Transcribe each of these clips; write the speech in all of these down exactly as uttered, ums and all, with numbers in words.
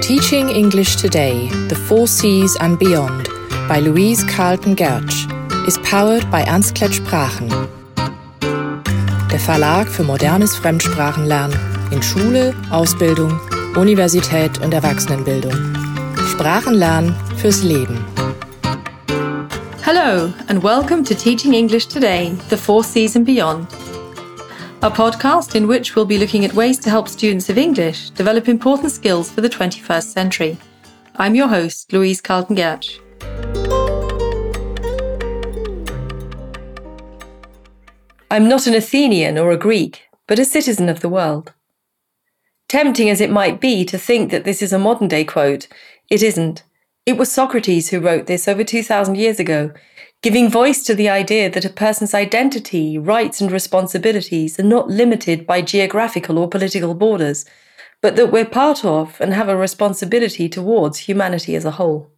Teaching English Today, The Four Seas and Beyond by Louise Carlton-Gertsch is powered by Ernst-Klett Sprachen. Der Verlag für modernes Fremdsprachenlernen in Schule, Ausbildung, Universität und Erwachsenenbildung. Sprachenlernen fürs Leben. Hello and welcome to Teaching English Today, The Four Seas and Beyond, a podcast in which we'll be looking at ways to help students of English develop important skills for the twenty-first century. I'm your host, Louise Carlton-Gertsch. I'm not an Athenian or a Greek, but a citizen of the world. Tempting as it might be to think that this is a modern-day quote, it isn't. It was Socrates who wrote this over two thousand years ago, giving voice to the idea that a person's identity, rights and responsibilities are not limited by geographical or political borders, but that we're part of and have a responsibility towards humanity as a whole.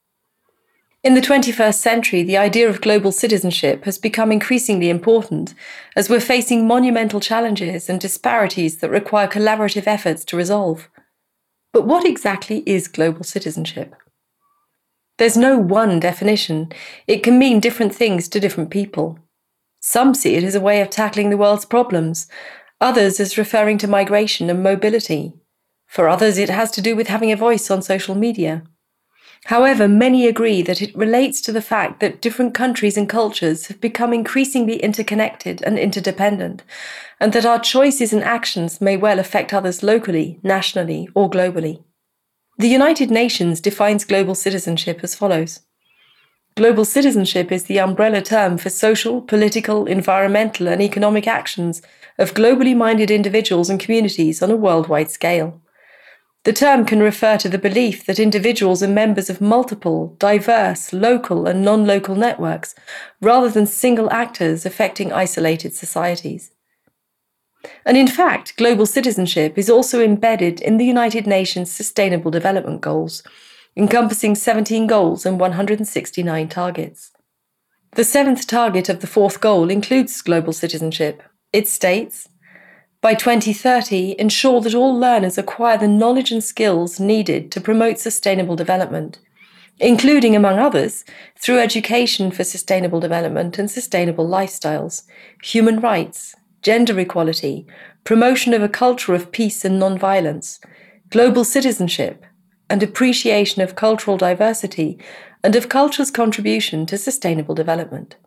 In the twenty-first century, the idea of global citizenship has become increasingly important as we're facing monumental challenges and disparities that require collaborative efforts to resolve. But what exactly is global citizenship? There's no one definition. It can mean different things to different people. Some see it as a way of tackling the world's problems, others as referring to migration and mobility. For others, it has to do with having a voice on social media. However, many agree that it relates to the fact that different countries and cultures have become increasingly interconnected and interdependent, and that our choices and actions may well affect others locally, nationally, or globally. The United Nations defines global citizenship as follows. Global citizenship is the umbrella term for social, political, environmental, and economic actions of globally minded individuals and communities on a worldwide scale. The term can refer to the belief that individuals are members of multiple, diverse, local, and non-local networks, rather than single actors affecting isolated societies. And in fact, global citizenship is also embedded in the United Nations Sustainable Development Goals, encompassing seventeen goals and one hundred sixty-nine targets. The seventh target of the fourth goal includes global citizenship. It states, by twenty thirty, ensure that all learners acquire the knowledge and skills needed to promote sustainable development, including, among others, through education for sustainable development and sustainable lifestyles, human rights, gender equality, promotion of a culture of peace and non-violence, global citizenship, and appreciation of cultural diversity and of culture's contribution to sustainable development.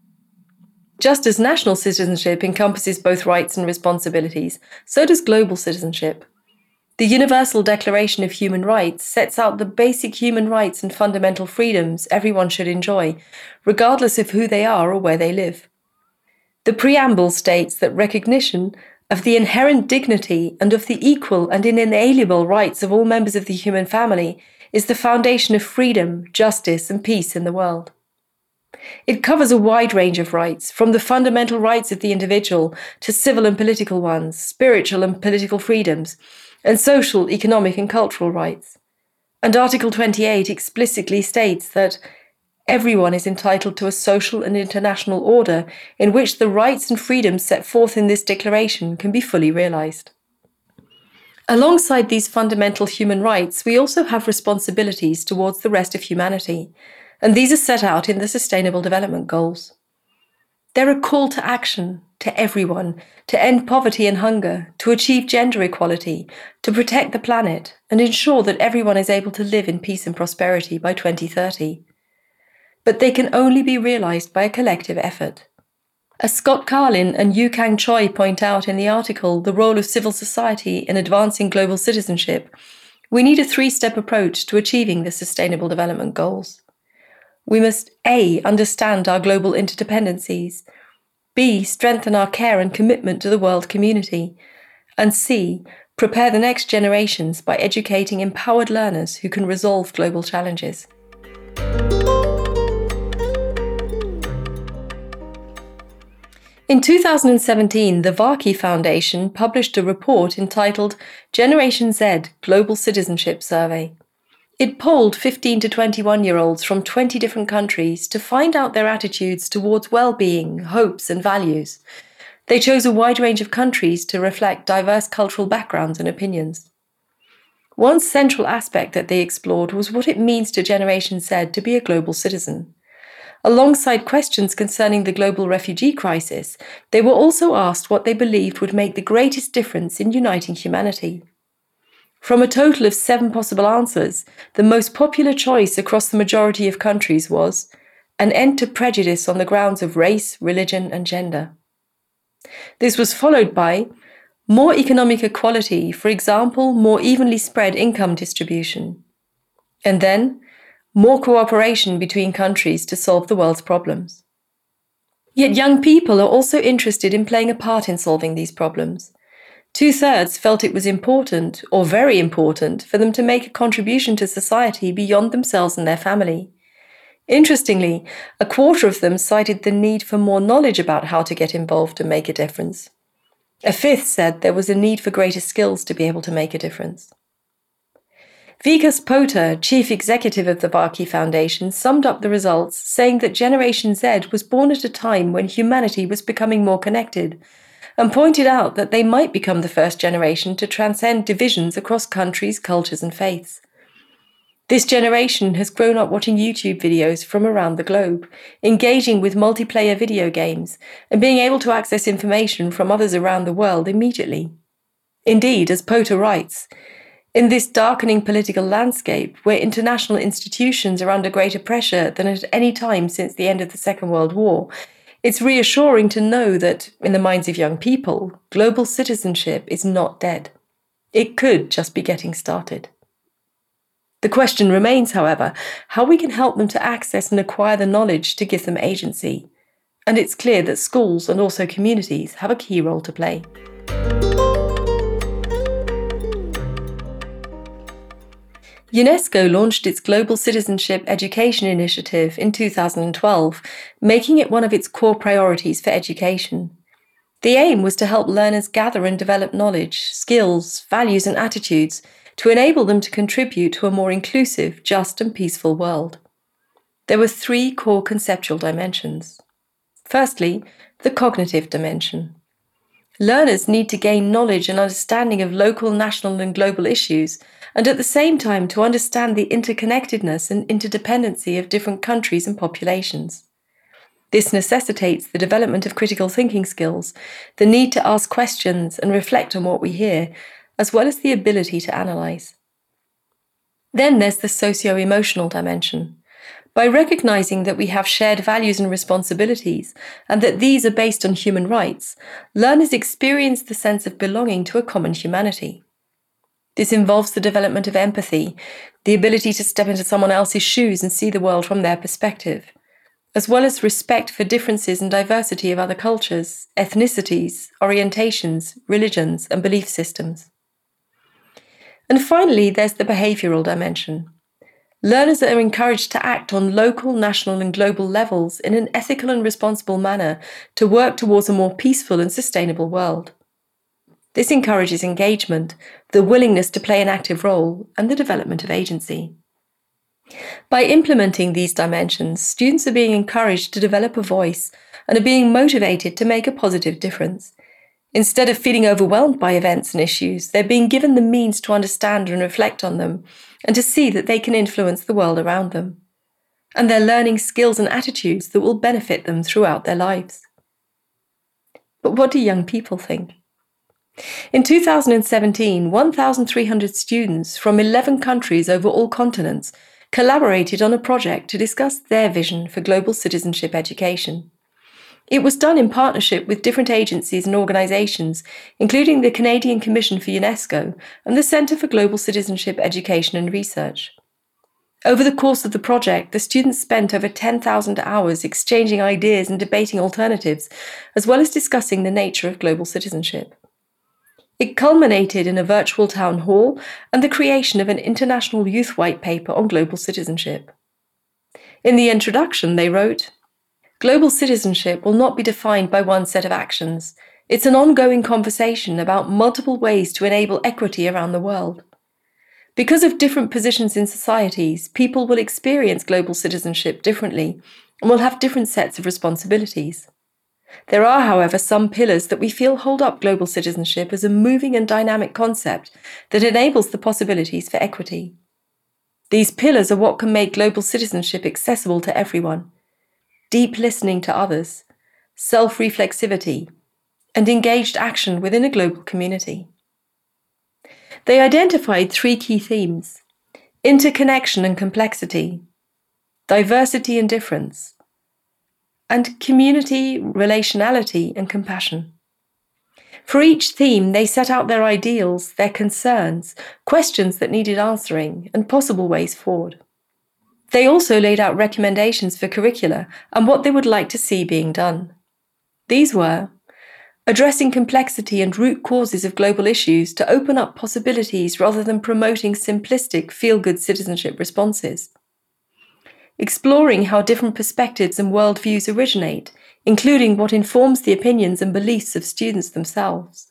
Just as national citizenship encompasses both rights and responsibilities, so does global citizenship. The Universal Declaration of Human Rights sets out the basic human rights and fundamental freedoms everyone should enjoy, regardless of who they are or where they live. The preamble states that recognition of the inherent dignity and of the equal and inalienable rights of all members of the human family is the foundation of freedom, justice, and peace in the world. It covers a wide range of rights, from the fundamental rights of the individual to civil and political ones, spiritual and political freedoms, and social, economic, and cultural rights. And Article twenty-eight explicitly states that everyone is entitled to a social and international order in which the rights and freedoms set forth in this declaration can be fully realized. Alongside these fundamental human rights, we also have responsibilities towards the rest of humanity, and these are set out in the Sustainable Development Goals. They're a call to action to everyone to end poverty and hunger, to achieve gender equality, to protect the planet, and ensure that everyone is able to live in peace and prosperity by twenty thirty. But they can only be realized by a collective effort. As Scott Carlin and Yu Kang Choi point out in the article The Role of Civil Society in Advancing Global Citizenship, we need a three-step approach to achieving the Sustainable Development Goals. We must A. Understand our global interdependencies, B. Strengthen our care and commitment to the world community, and C. Prepare the next generations by educating empowered learners who can resolve global challenges. In two thousand seventeen, the Varkey Foundation published a report entitled Generation Z Global Citizenship Survey. It polled fifteen to twenty-one-year-olds from twenty different countries to find out their attitudes towards well-being, hopes, and values. They chose a wide range of countries to reflect diverse cultural backgrounds and opinions. One central aspect that they explored was what it means to Generation Z to be a global citizen. Alongside questions concerning the global refugee crisis, they were also asked what they believed would make the greatest difference in uniting humanity. From a total of seven possible answers, the most popular choice across the majority of countries was an end to prejudice on the grounds of race, religion, and gender. This was followed by more economic equality, for example, more evenly spread income distribution. And then, more cooperation between countries to solve the world's problems. Yet young people are also interested in playing a part in solving these problems. Two-thirds felt it was important, or very important, for them to make a contribution to society beyond themselves and their family. Interestingly, a quarter of them cited the need for more knowledge about how to get involved and make a difference. A fifth said there was a need for greater skills to be able to make a difference. Vikas Pota, chief executive of the Varkey Foundation, summed up the results, saying that Generation Z was born at a time when humanity was becoming more connected, and pointed out that they might become the first generation to transcend divisions across countries, cultures, and faiths. This generation has grown up watching YouTube videos from around the globe, engaging with multiplayer video games, and being able to access information from others around the world immediately. Indeed, as Pota writes, in this darkening political landscape, where international institutions are under greater pressure than at any time since the end of the Second World War, it's reassuring to know that, in the minds of young people, global citizenship is not dead. It could just be getting started. The question remains, however, how we can help them to access and acquire the knowledge to give them agency. And it's clear that schools and also communities have a key role to play. UNESCO launched its Global Citizenship Education Initiative in two thousand twelve, making it one of its core priorities for education. The aim was to help learners gather and develop knowledge, skills, values, and attitudes to enable them to contribute to a more inclusive, just, and peaceful world. There were three core conceptual dimensions. Firstly, the cognitive dimension. Learners need to gain knowledge and understanding of local, national, and global issues, and at the same time to understand the interconnectedness and interdependency of different countries and populations. This necessitates the development of critical thinking skills, the need to ask questions and reflect on what we hear, as well as the ability to analyse. Then there's the socio-emotional dimension. By recognising that we have shared values and responsibilities, and that these are based on human rights, learners experience the sense of belonging to a common humanity. This involves the development of empathy, the ability to step into someone else's shoes and see the world from their perspective, as well as respect for differences and diversity of other cultures, ethnicities, orientations, religions, and belief systems. And finally, there's the behavioural dimension. Learners are encouraged to act on local, national, and global levels in an ethical and responsible manner to work towards a more peaceful and sustainable world. This encourages engagement, the willingness to play an active role, and the development of agency. By implementing these dimensions, students are being encouraged to develop a voice and are being motivated to make a positive difference. Instead of feeling overwhelmed by events and issues, they're being given the means to understand and reflect on them, and to see that they can influence the world around them. And they're learning skills and attitudes that will benefit them throughout their lives. But what do young people think? In two thousand seventeen, one thousand three hundred students from eleven countries over all continents collaborated on a project to discuss their vision for global citizenship education. It was done in partnership with different agencies and organisations, including the Canadian Commission for UNESCO and the Centre for Global Citizenship Education and Research. Over the course of the project, the students spent over ten thousand hours exchanging ideas and debating alternatives, as well as discussing the nature of global citizenship. It culminated in a virtual town hall and the creation of an international youth white paper on global citizenship. In the introduction, they wrote, "Global citizenship will not be defined by one set of actions. It's an ongoing conversation about multiple ways to enable equity around the world. Because of different positions in societies, people will experience global citizenship differently and will have different sets of responsibilities. There are, however, some pillars that we feel hold up global citizenship as a moving and dynamic concept that enables the possibilities for equity. These pillars are what can make global citizenship accessible to everyone: deep listening to others, self-reflexivity, and engaged action within a global community. They identified three key themes: interconnection and complexity, diversity and difference, and community, relationality, and compassion. For each theme, they set out their ideals, their concerns, questions that needed answering, and possible ways forward. They also laid out recommendations for curricula and what they would like to see being done. These were addressing complexity and root causes of global issues to open up possibilities rather than promoting simplistic, feel-good citizenship responses. Exploring how different perspectives and worldviews originate, including what informs the opinions and beliefs of students themselves.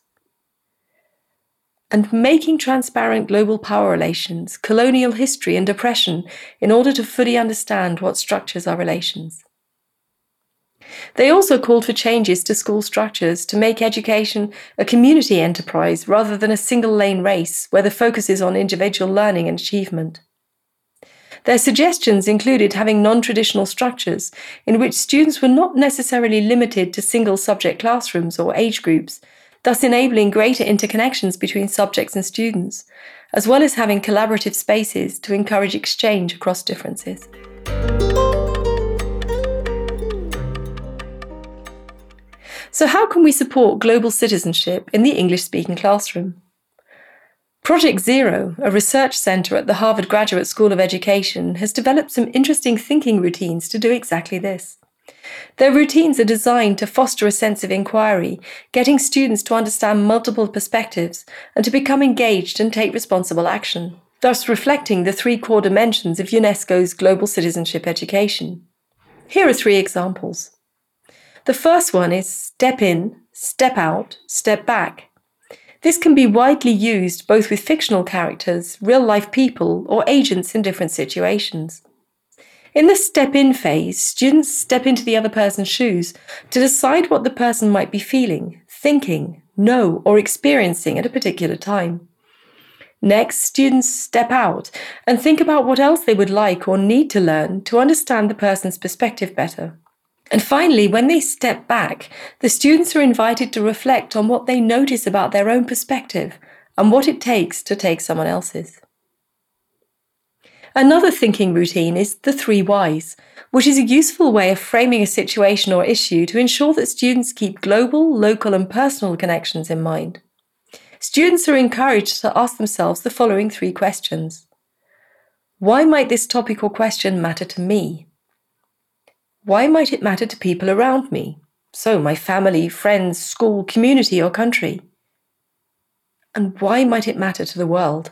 And making transparent global power relations, colonial history and oppression in order to fully understand what structures our relations. They also called for changes to school structures to make education a community enterprise rather than a single-lane race where the focus is on individual learning and achievement. Their suggestions included having non-traditional structures in which students were not necessarily limited to single-subject classrooms or age groups, thus enabling greater interconnections between subjects and students, as well as having collaborative spaces to encourage exchange across differences. So how can we support global citizenship in the English-speaking classroom? Project Zero, a research centre at the Harvard Graduate School of Education, has developed some interesting thinking routines to do exactly this. Their routines are designed to foster a sense of inquiry, getting students to understand multiple perspectives and to become engaged and take responsible action, thus reflecting the three core dimensions of UNESCO's global citizenship education. Here are three examples. The first one is step in, step out, step back. This can be widely used both with fictional characters, real-life people, or agents in different situations. In the step-in phase, students step into the other person's shoes to decide what the person might be feeling, thinking, know, or experiencing at a particular time. Next, students step out and think about what else they would like or need to learn to understand the person's perspective better. And finally, when they step back, the students are invited to reflect on what they notice about their own perspective and what it takes to take someone else's. Another thinking routine is the three whys, which is a useful way of framing a situation or issue to ensure that students keep global, local, and personal connections in mind. Students are encouraged to ask themselves the following three questions. Why might this topic or question matter to me? Why might it matter to people around me? So my family, friends, school, community, or country? And why might it matter to the world?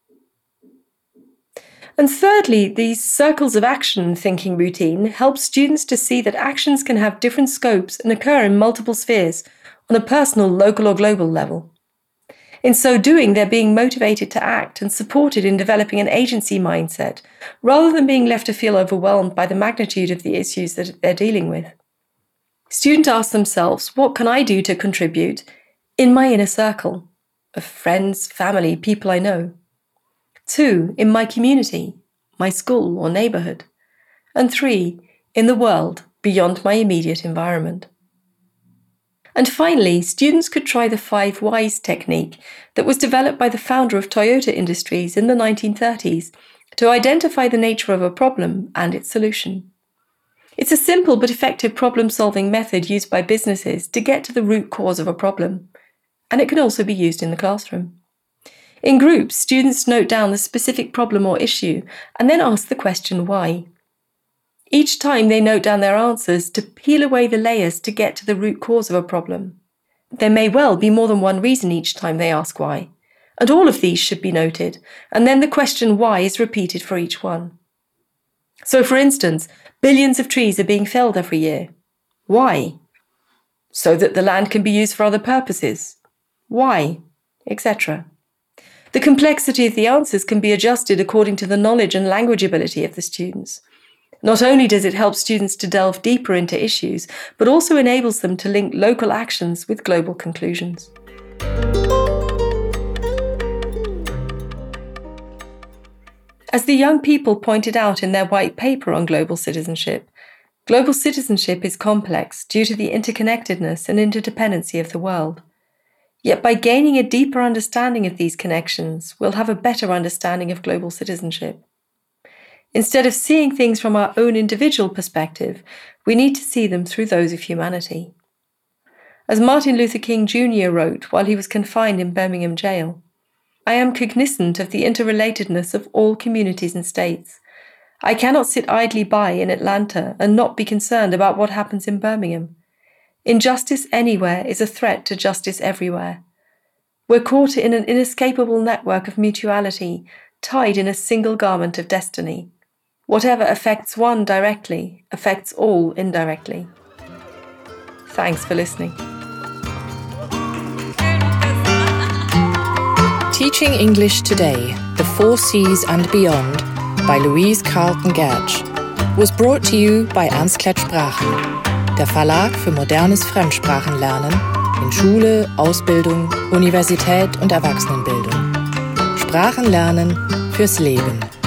And thirdly, these circles of action thinking routine help students to see that actions can have different scopes and occur in multiple spheres on a personal, local, or global level. In so doing, they're being motivated to act and supported in developing an agency mindset, rather than being left to feel overwhelmed by the magnitude of the issues that they're dealing with. Students ask themselves, what can I do to contribute in my inner circle of friends, family, people I know? Two, in my community, my school or neighbourhood. And three, in the world beyond my immediate environment. And finally, students could try the five whys technique that was developed by the founder of Toyota Industries in the nineteen thirties to identify the nature of a problem and its solution. It's a simple but effective problem-solving method used by businesses to get to the root cause of a problem, and it can also be used in the classroom. In groups, students note down the specific problem or issue and then ask the question why. Each time they note down their answers to peel away the layers to get to the root cause of a problem. There may well be more than one reason each time they ask why, and all of these should be noted, and then the question why is repeated for each one. So for instance, billions of trees are being felled every year. Why? So that the land can be used for other purposes. Why? et cetera. The complexity of the answers can be adjusted according to the knowledge and language ability of the students. Not only does it help students to delve deeper into issues, but also enables them to link local actions with global conclusions. As the young people pointed out in their white paper on global citizenship, global citizenship is complex due to the interconnectedness and interdependency of the world. Yet by gaining a deeper understanding of these connections, we'll have a better understanding of global citizenship. Instead of seeing things from our own individual perspective, we need to see them through those of humanity. As Martin Luther King Junior wrote while he was confined in Birmingham jail, "I am cognizant of the interrelatedness of all communities and states. I cannot sit idly by in Atlanta and not be concerned about what happens in Birmingham. Injustice anywhere is a threat to justice everywhere. We're caught in an inescapable network of mutuality, tied in a single garment of destiny. Whatever affects one directly affects all indirectly." Thanks for listening. Teaching English Today, The Four Cs and Beyond by Louise Carlton Gertsch was brought to you by Ernst-Klett Sprachen, der Verlag für modernes Fremdsprachenlernen in Schule, Ausbildung, Universität und Erwachsenenbildung. Sprachen lernen fürs Leben.